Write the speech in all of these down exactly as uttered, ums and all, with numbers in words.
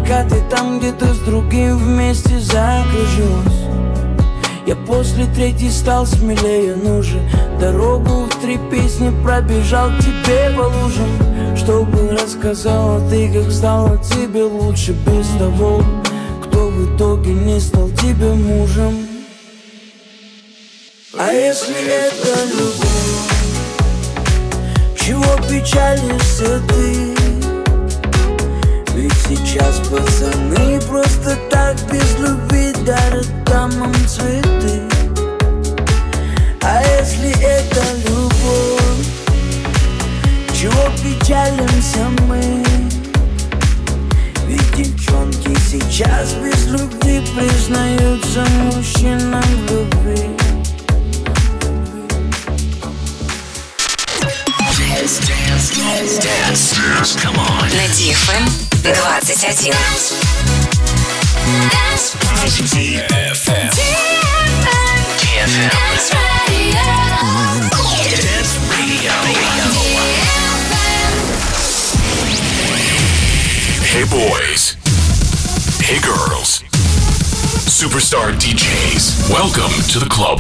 пока ты там где-то с другим вместе закружилась. Я после третьей стал смелее, ну же дорогу в три песни пробежал к тебе по лужам, чтобы рассказала ты, как стало тебе лучше без того, кто в итоге не стал тебе мужем. А если это любовь, чего печалишься ты? Ведь сейчас пацаны просто так без любви дарят дамам цветы. А если это любовь, чего печалимся мы? Ведь девчонки сейчас без любви признаются мужчинам в любви. Dance, dance, dance, dance, come on. На ди эф эм двадцать один. ди эф эм. ди эф эм. Dance Radio. Hey boys. Hey girls. Superstar ди джейс. Welcome to the club.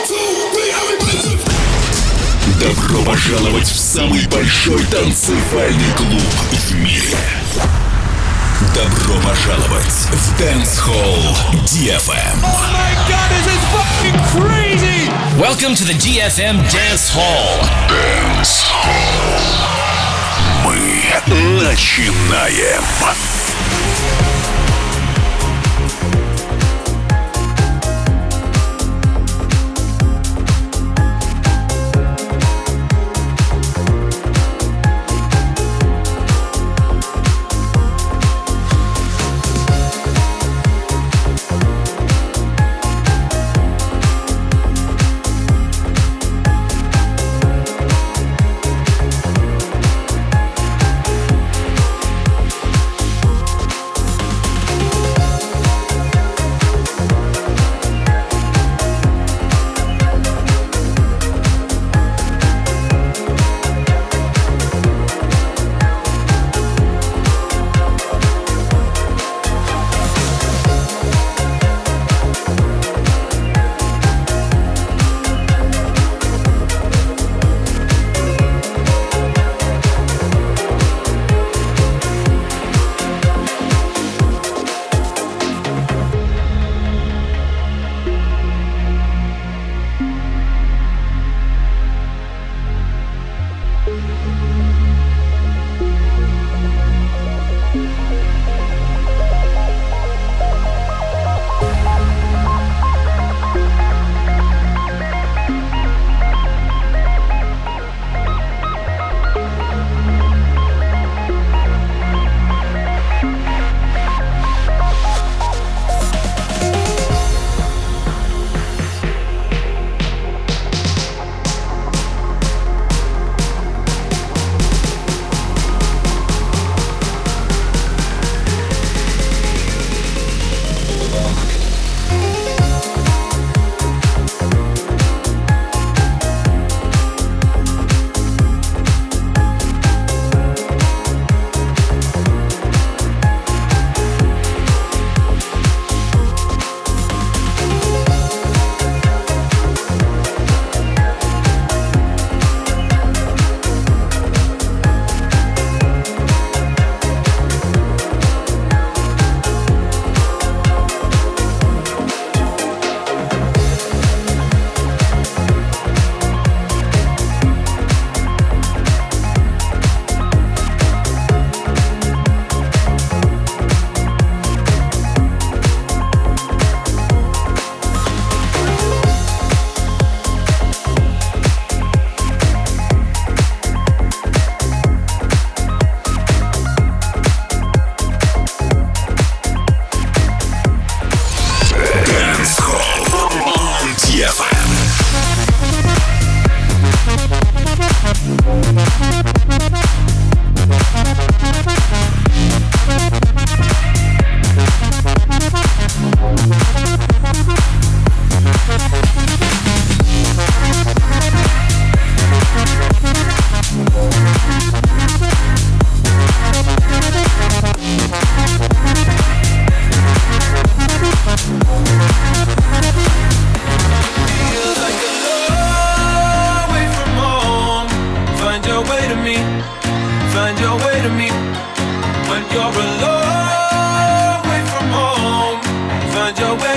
Добро пожаловать в самый большой танцевальный клуб в мире. Добро пожаловать в Dance Hall ди эф эм. Oh my God, this is fucking crazy! Welcome to the ди эф эм Dance Hall. Dance Hall. Мы начинаем.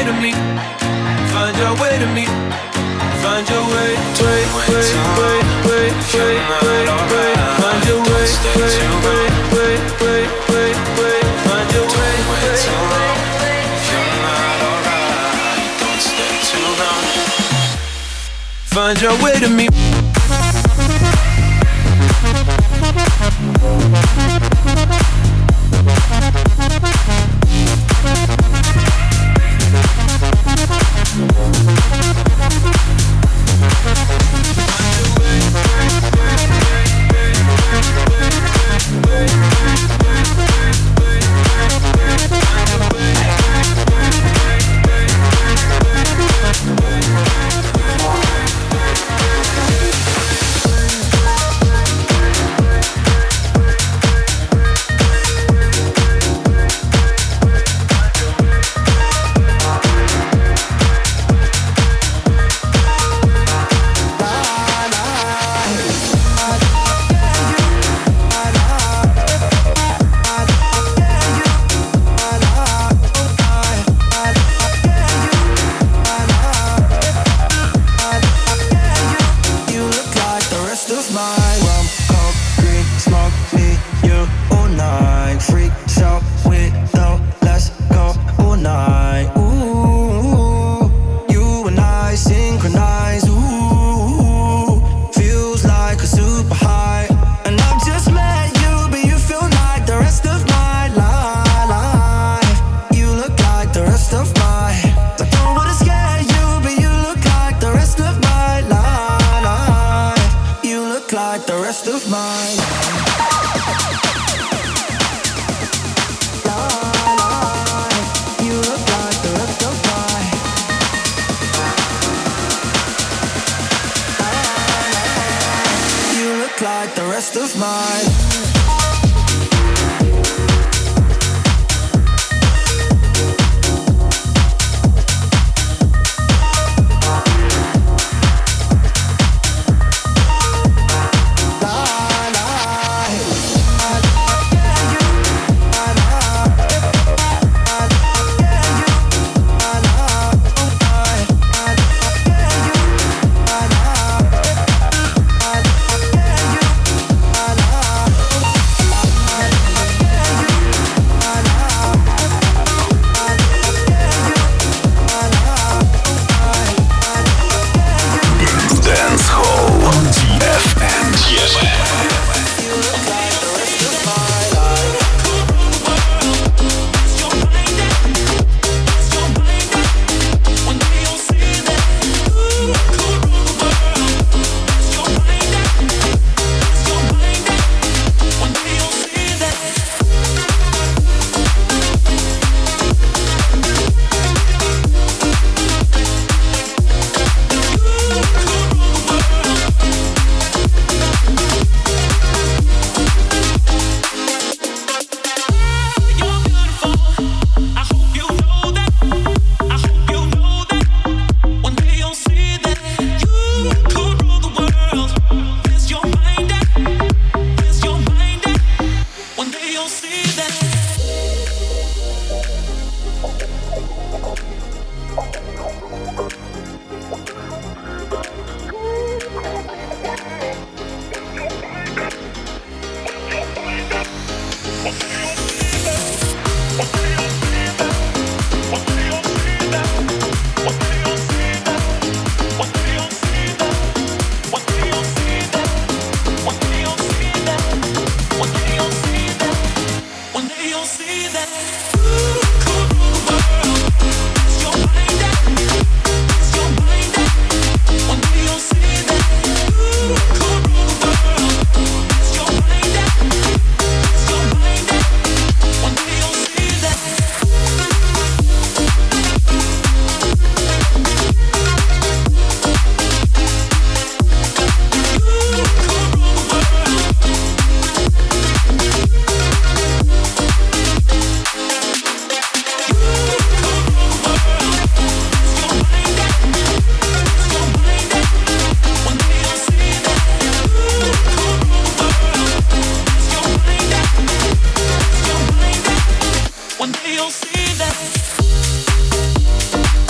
way to me. Find your way to me. Find your way, way, way, way, way, way, way, way. Find your way, way, way, way, way, way, way. Find your way, way, way. You're not alright. Don't stay too long. Find your way to me. One day you'll see that.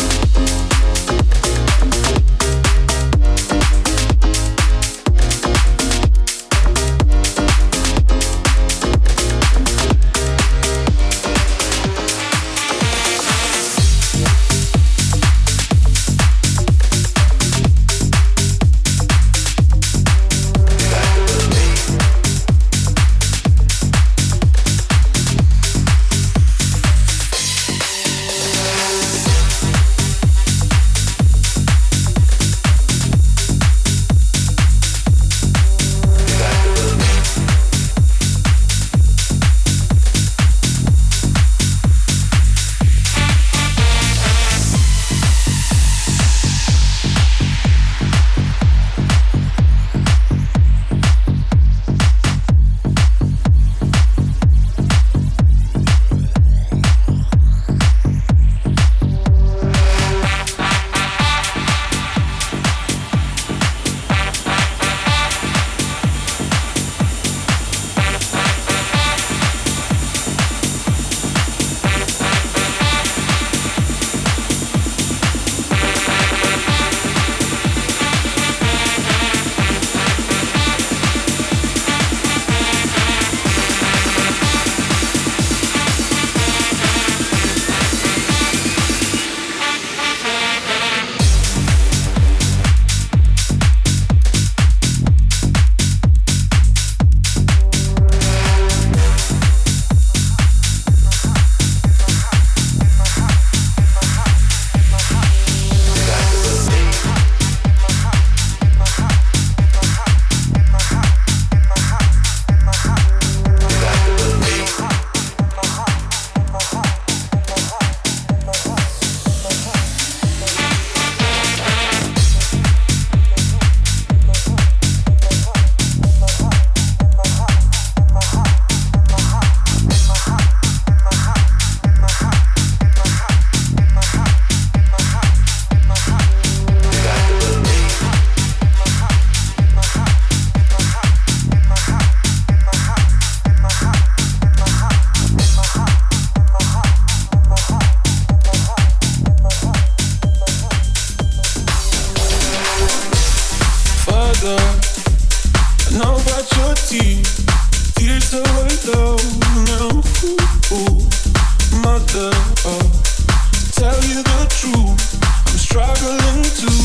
sister. Oh, to tell you the truth, I'm struggling too.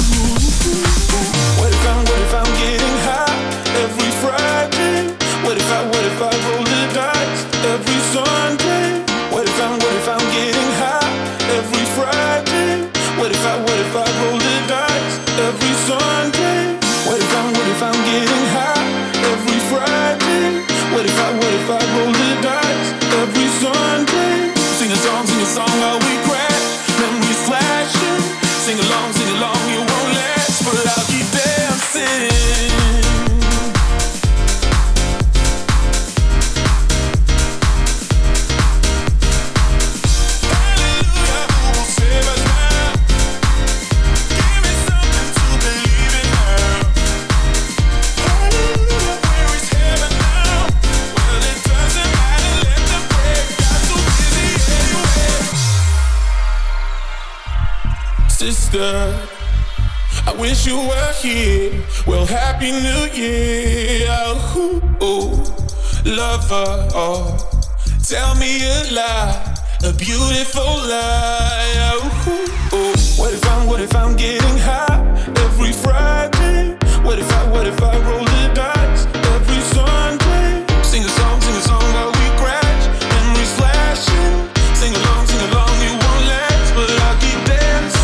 What if I'm, what if I'm getting high every Friday? What if I, what if I roll the dice every Sunday? What if I'm, what if I'm getting high every Friday? What if I, what if I roll the dice every Sunday? What if I'm, what if I'm getting high every Friday? What if I, what if I roll the dice every Sunday? Sing a song, sing a song while we crash, memories flashing. Sing along, sing along, you won't last, but I'll keep dancing. Sister, I wish you were here. Well, Happy New Year. Oh, oh, lover, oh, tell me a lie, a beautiful lie. Oh, oh, what if I'm, what if I'm getting high every Friday? What if I, what if I roll the dice every Sunday? Sing a song, sing a song while we crash, memories flashing. Sing along, sing along, you won't last, but I'll keep dancing.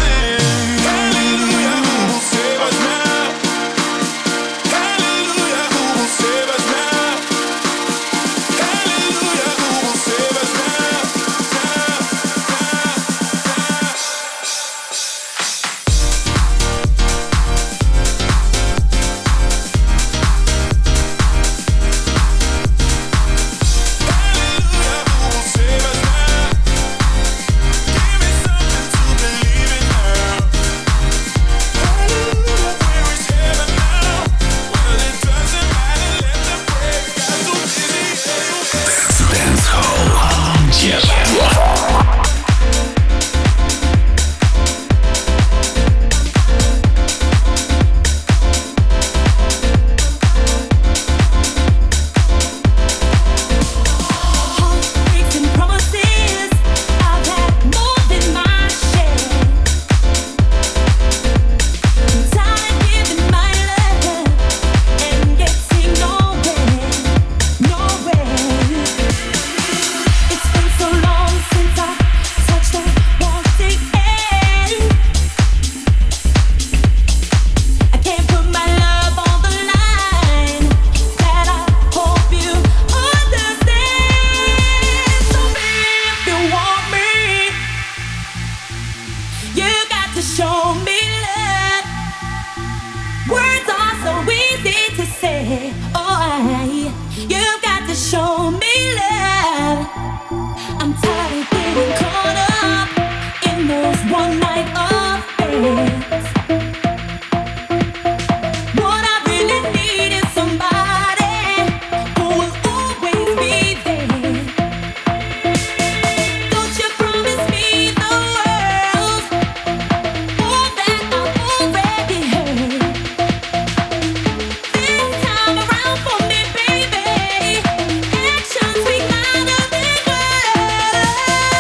Baby, actions speak louder than words.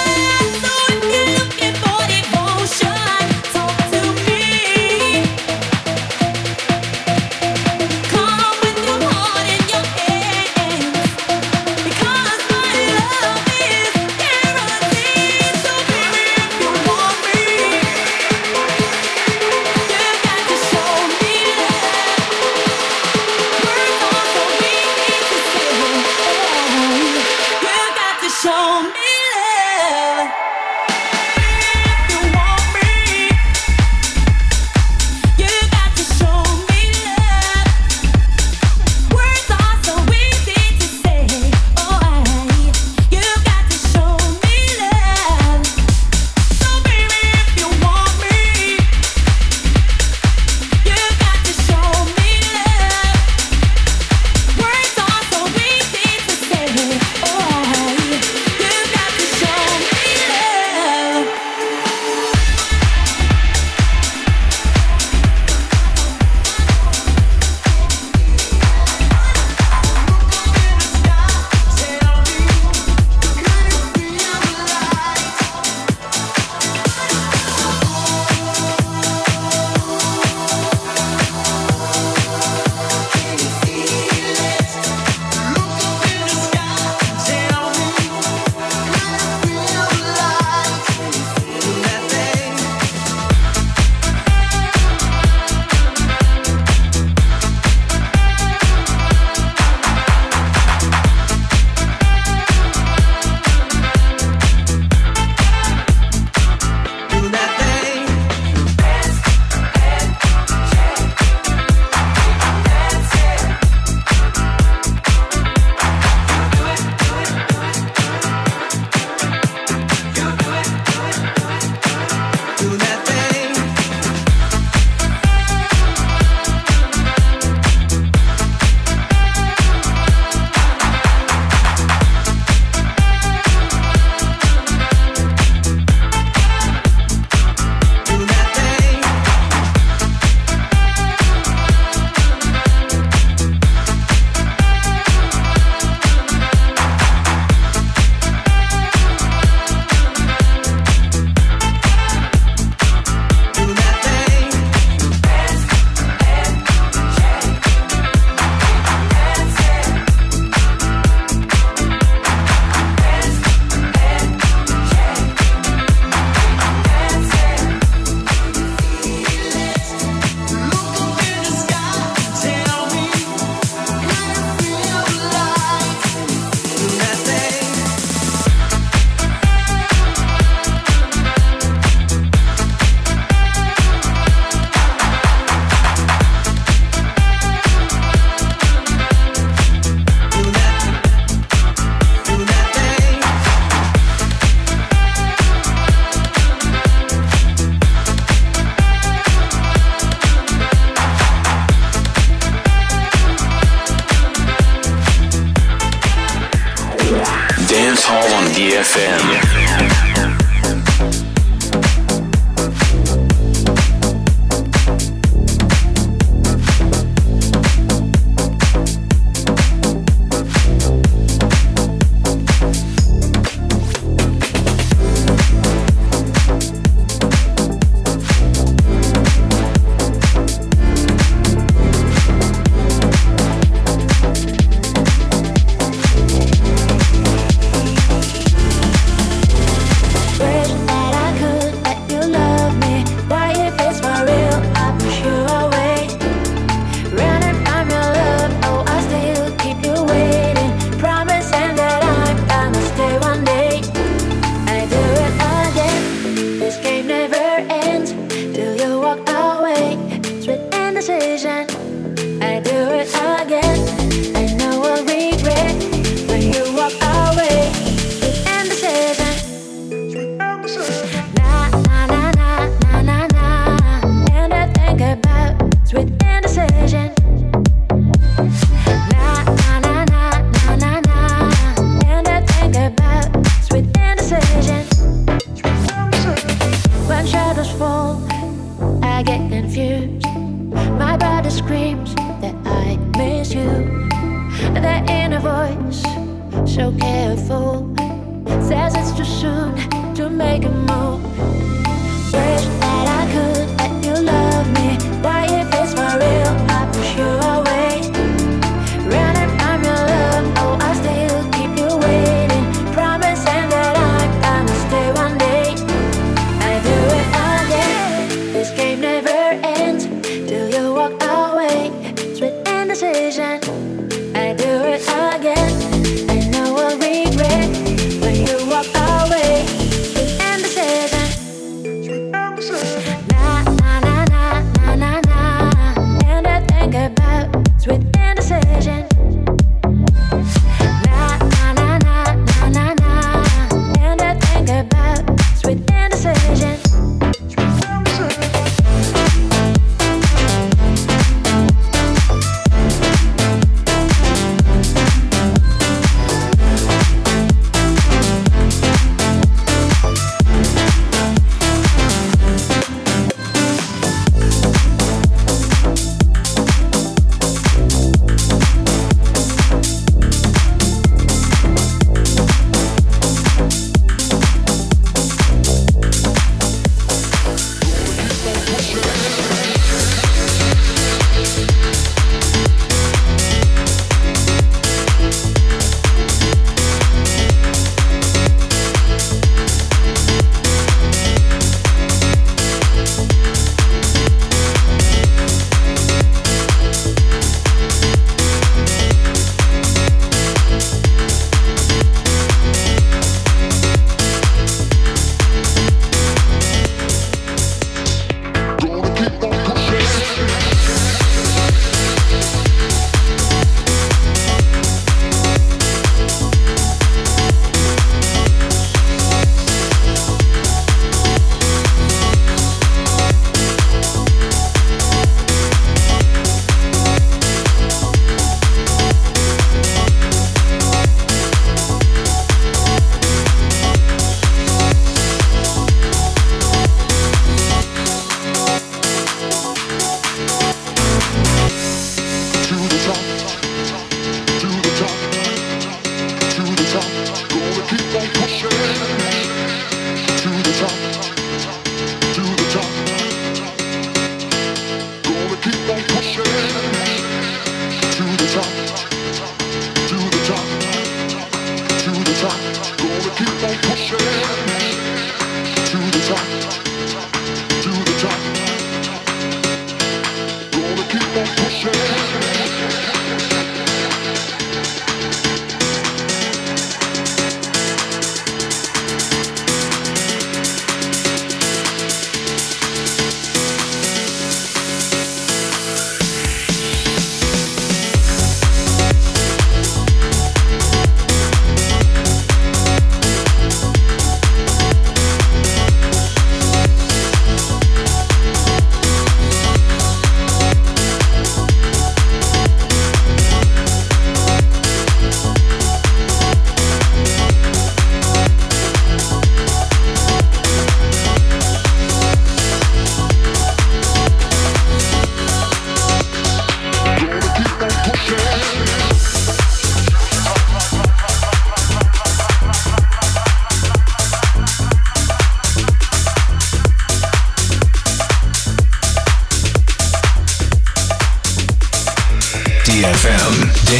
Indecision.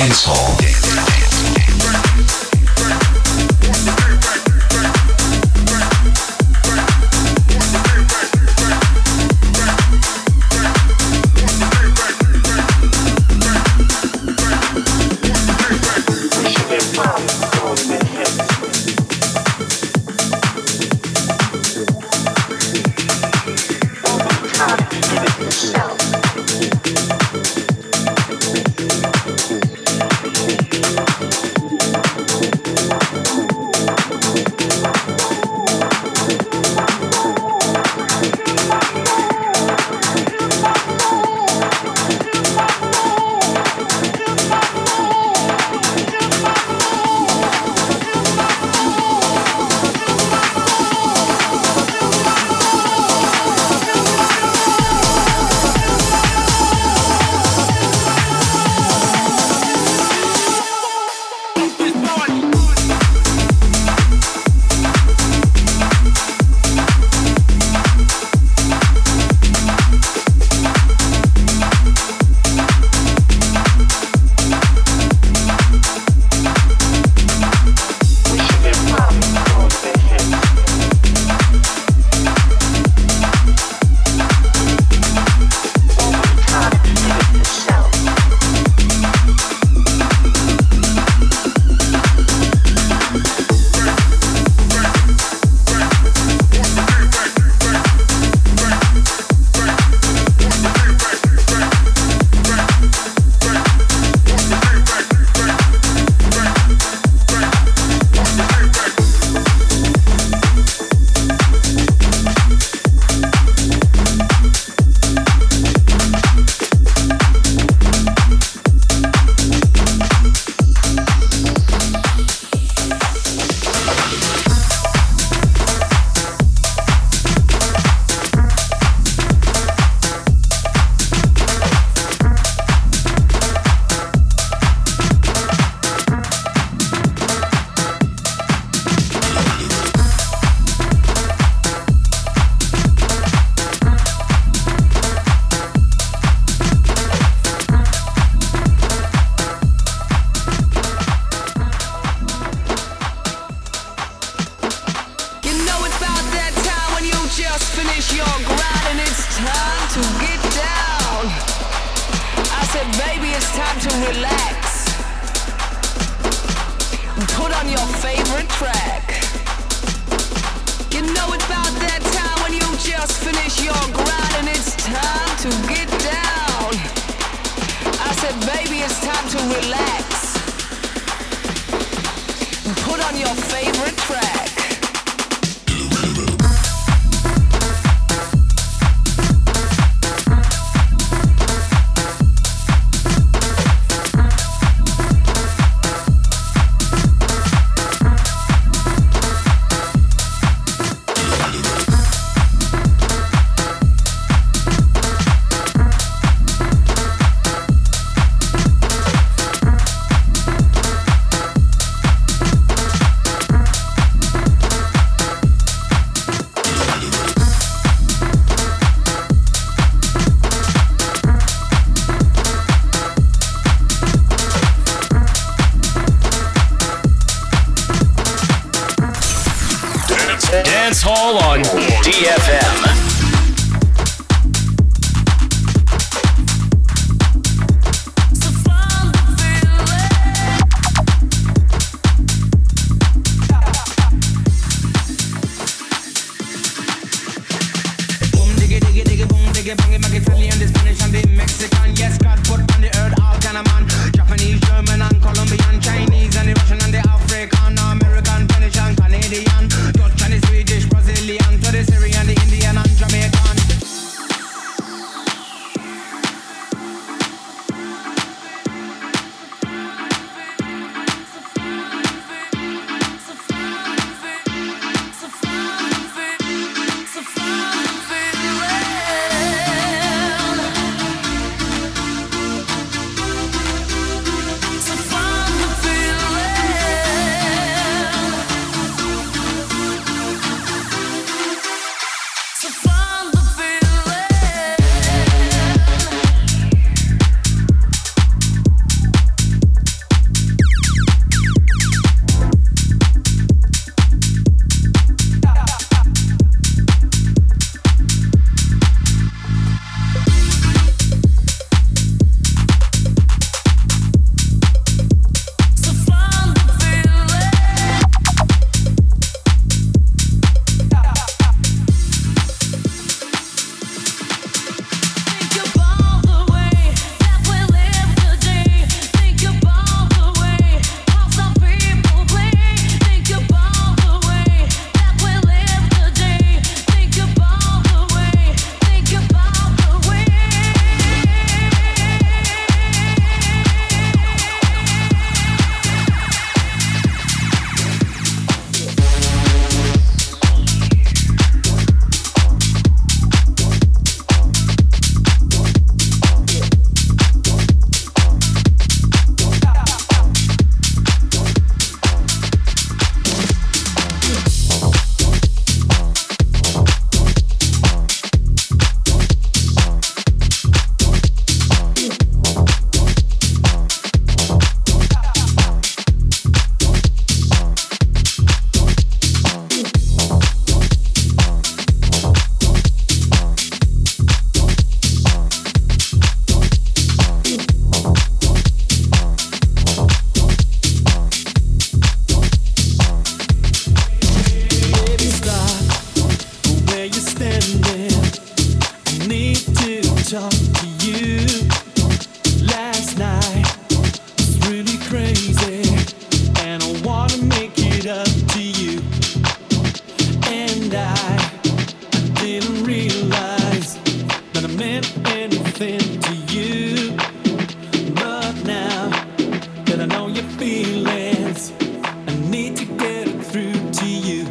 Dance Hall. Dance Hall on D F M. talk to you. Last night was really crazy, and I wanna make it up to you. And I, I didn't realize that I meant anything to you. But now that I know your feelings, I need to get it through to you.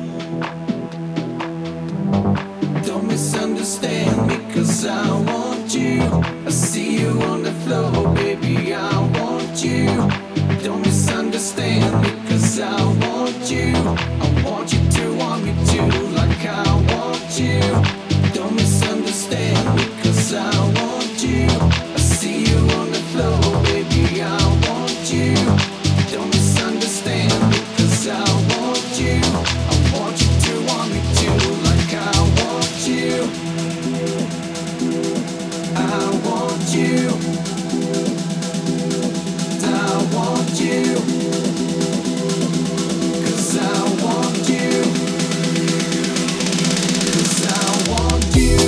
Don't misunderstand me, 'cause I want you. I see you on the floor, baby, I want you. Don't misunderstand me, 'cause I want you. I want you to want me too, like I want you. Don't misunderstand me, 'cause I want you. I see you on the floor, baby, I want you. Don't misunderstand me, 'cause I want you. I want you to want me too, like I want you. I want you. I want you. 'Cause I want you. 'Cause I want you.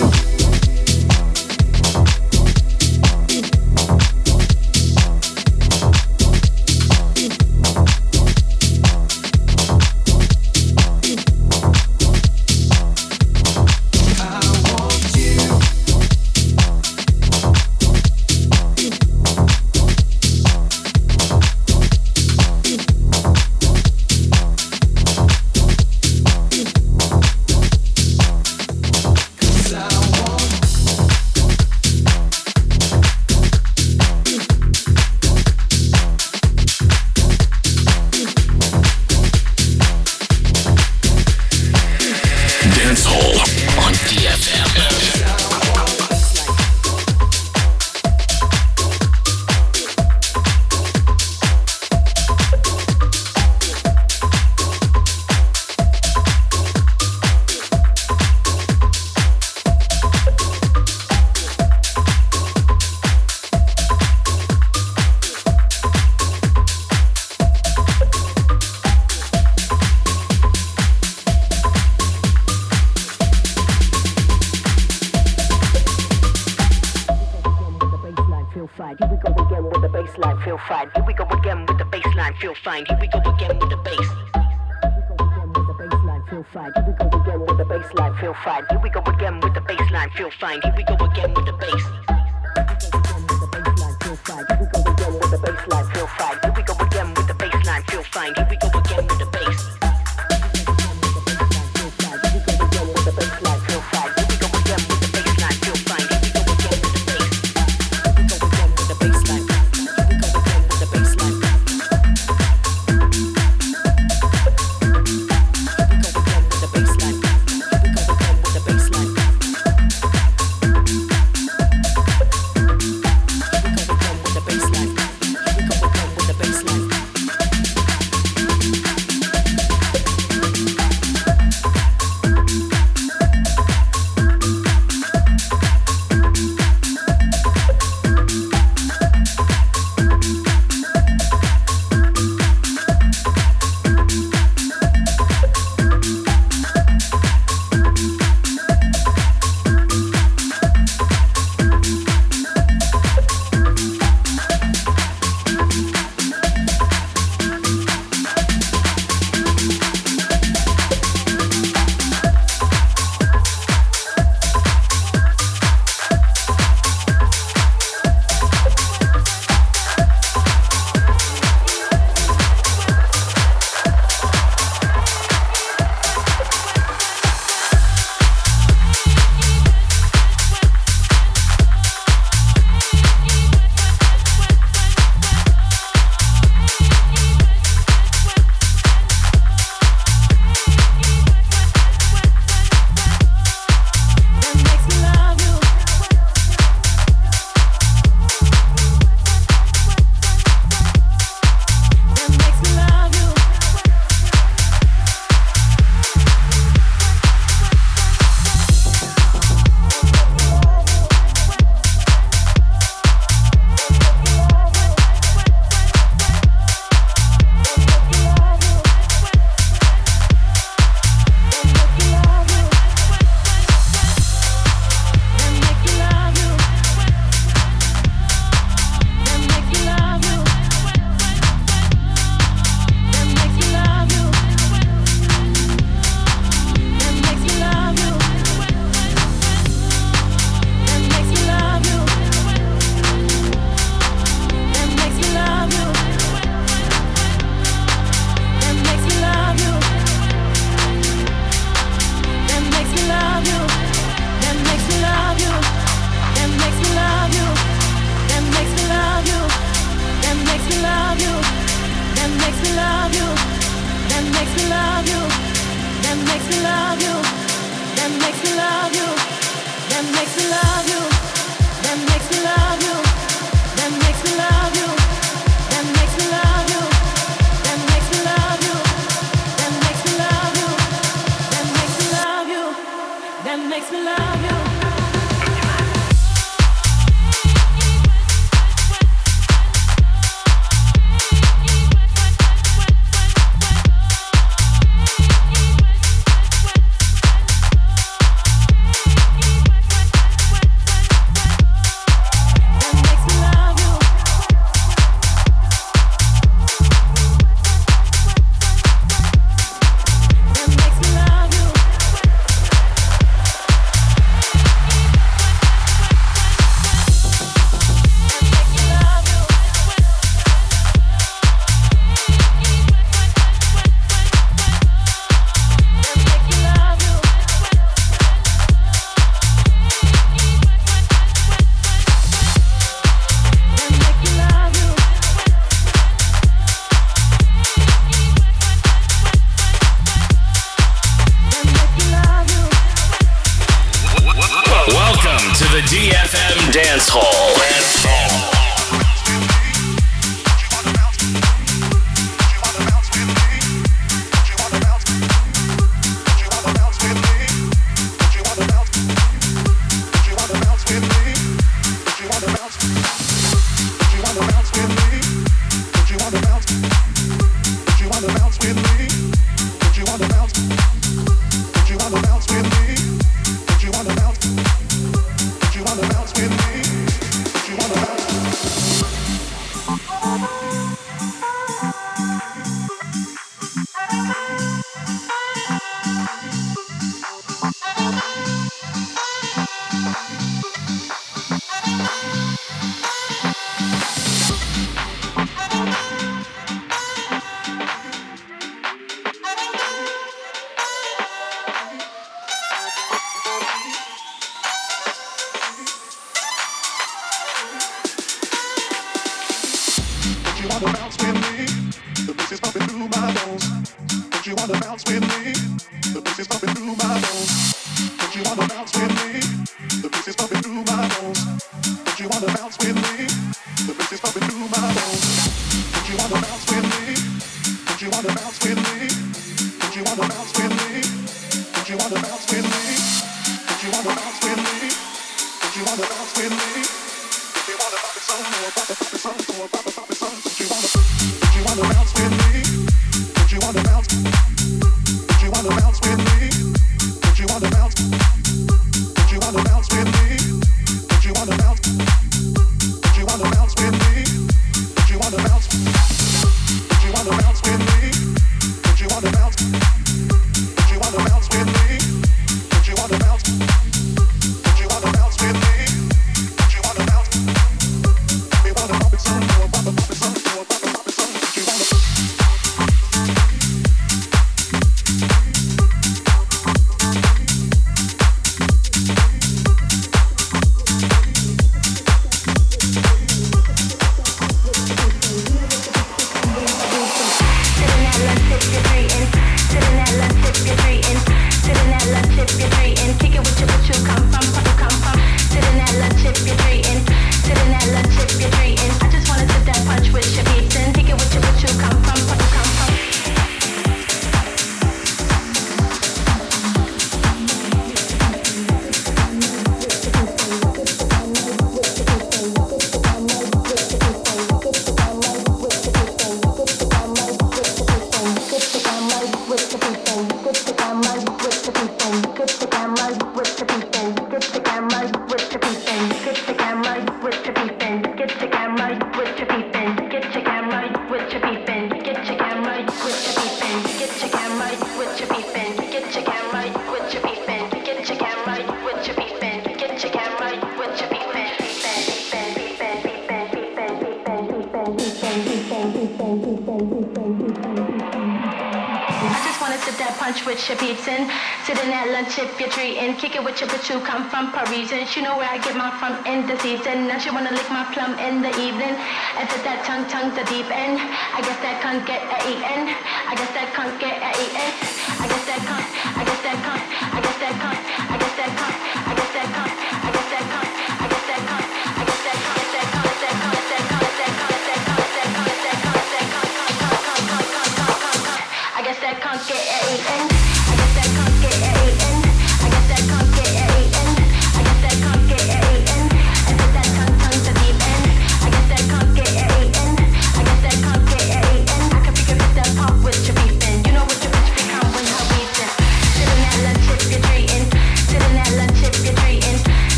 She know where I get my from in the season. Now she wanna lick my plum in the evening. And said that tongue, tongue the deep end. I guess that can't get a eaten. I guess that can't get a eaten. I guess that can't. I guess that can't. I guess that can't. I guess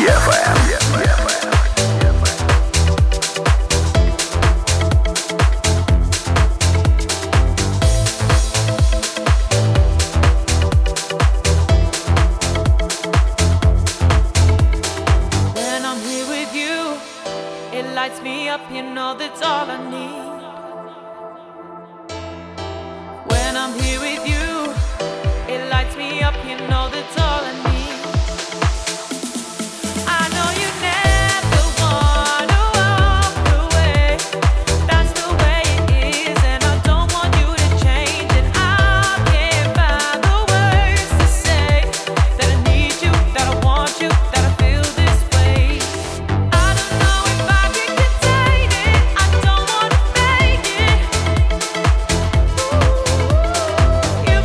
ди эф эм. Lights me up, you know that's all I need. When I'm here with you, it lights me up, you know that's all I need. I know you never wanna walk away. That's the way it is, and I don't want you to change it. I can't find the words to say that I need you, that I want you, that I feel this way. I don't know if I can contain it. I don't wanna fake it. Ooh, you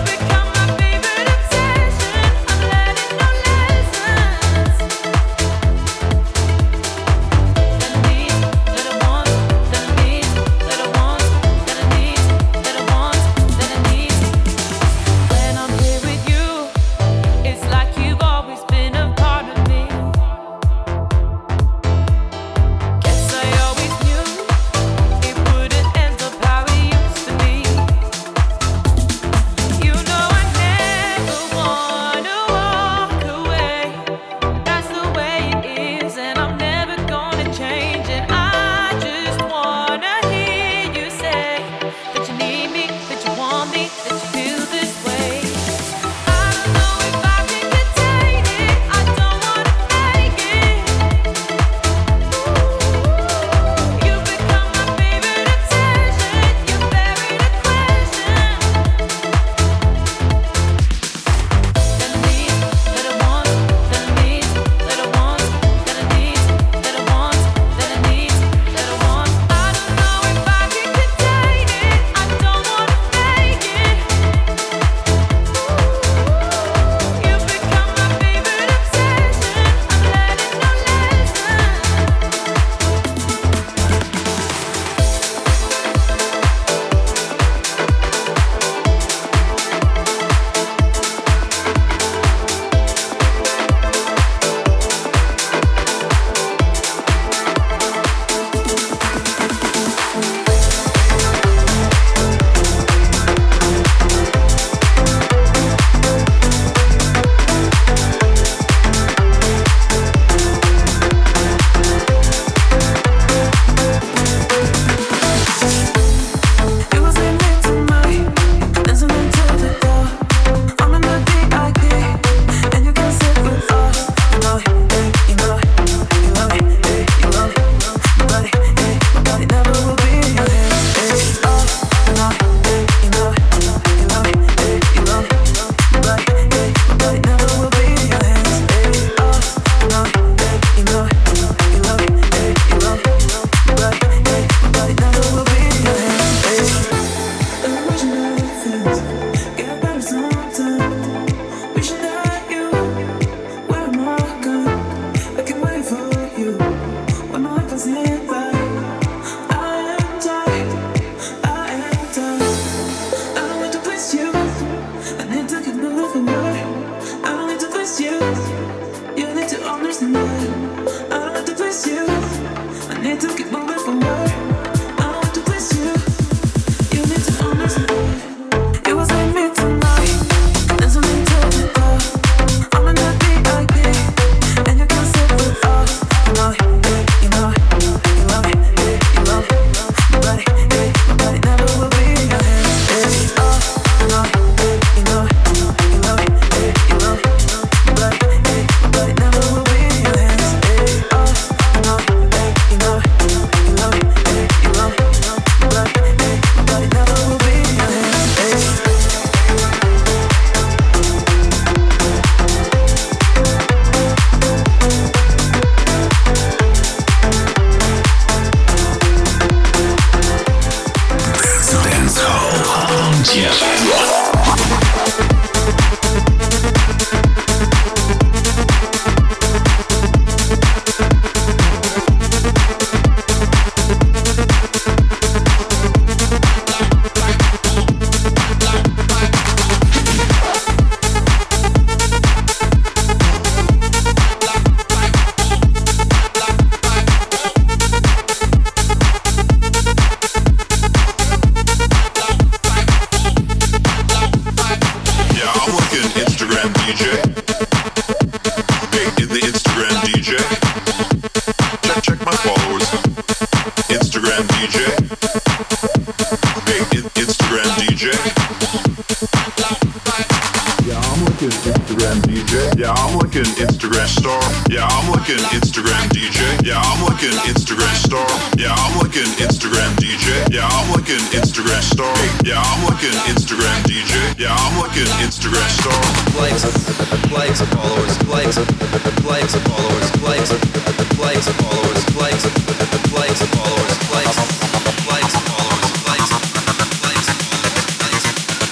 like an Instagram D J. Yeah, I'm like an Instagram star. Yeah, I'm like an Instagram D J. Yeah, I'm like an Instagram star. Yeah, I'm like an Instagram D J. Yeah, I'm like an Instagram star. Likes, likes, followers, likes, likes, followers, likes, likes, followers, likes, likes, followers, likes, likes, followers, likes, likes, likes,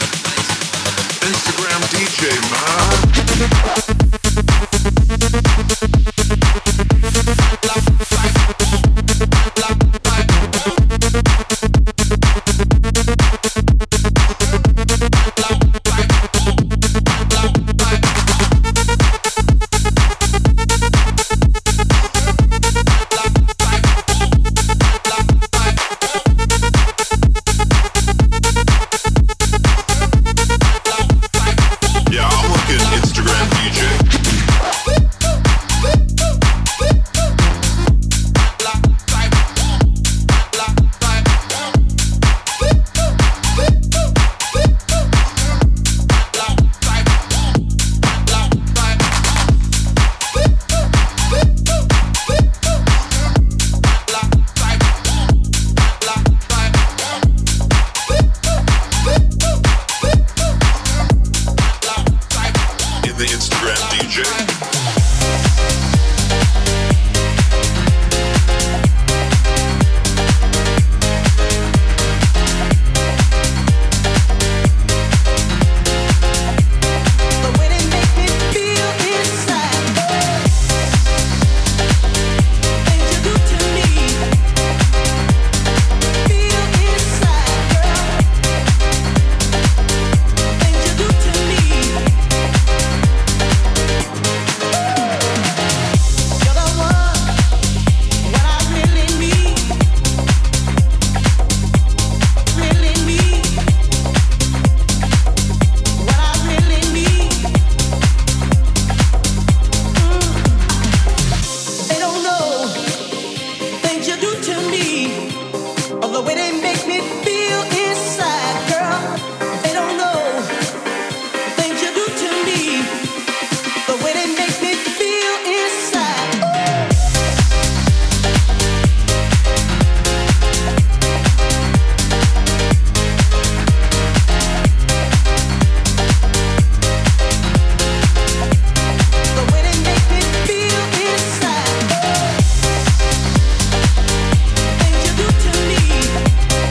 Instagram D J, man. Things you do to me.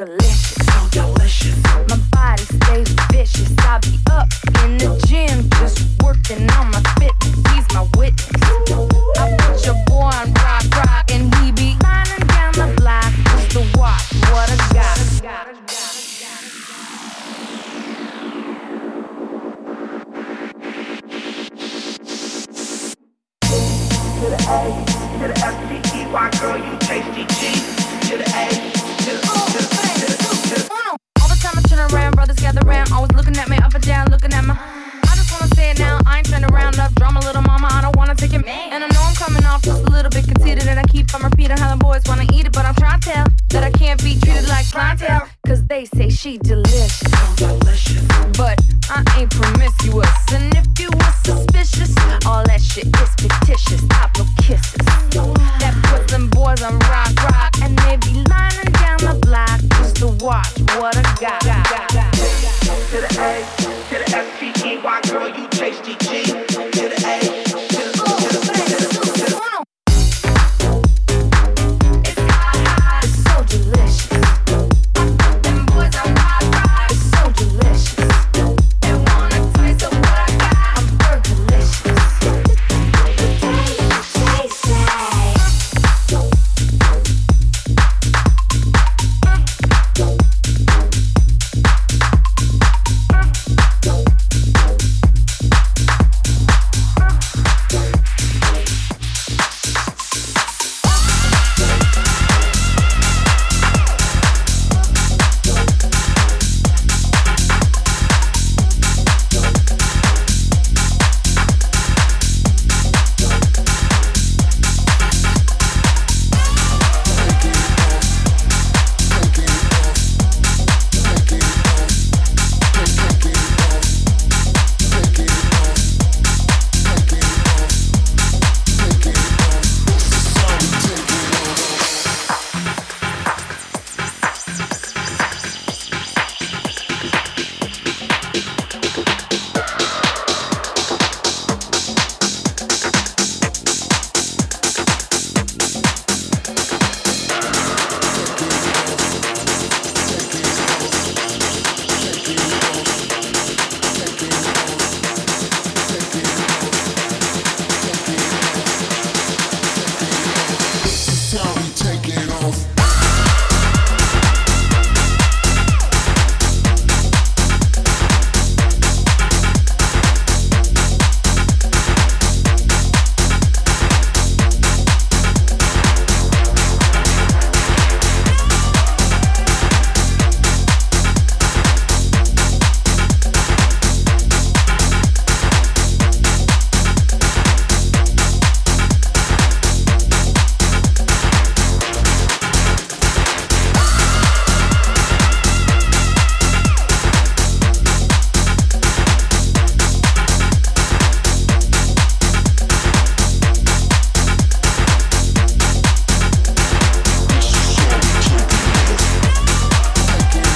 delicious, so delicious. My body stays vicious. I be up in the gym, just working on my fitness. He's my witness. I put your boy on rock, rock, and he be lining down the block just to watch what I got. To the A, to the F C E Y, girl, you tasty G. To the A, to the O, to the to the to the. All the time I turn around, brothers gather round, always looking at me up and down, looking at my. I just wanna say it now, I ain't trying to round up drama, little mama, I don't wanna take it. And I know I'm coming off just a little bit conceited, and I keep on repeating how the boys wanna eat it, but I'm trying to tell that I can't be treated like clientele, cause they say she delicious, delicious. but I ain't promiscuous, and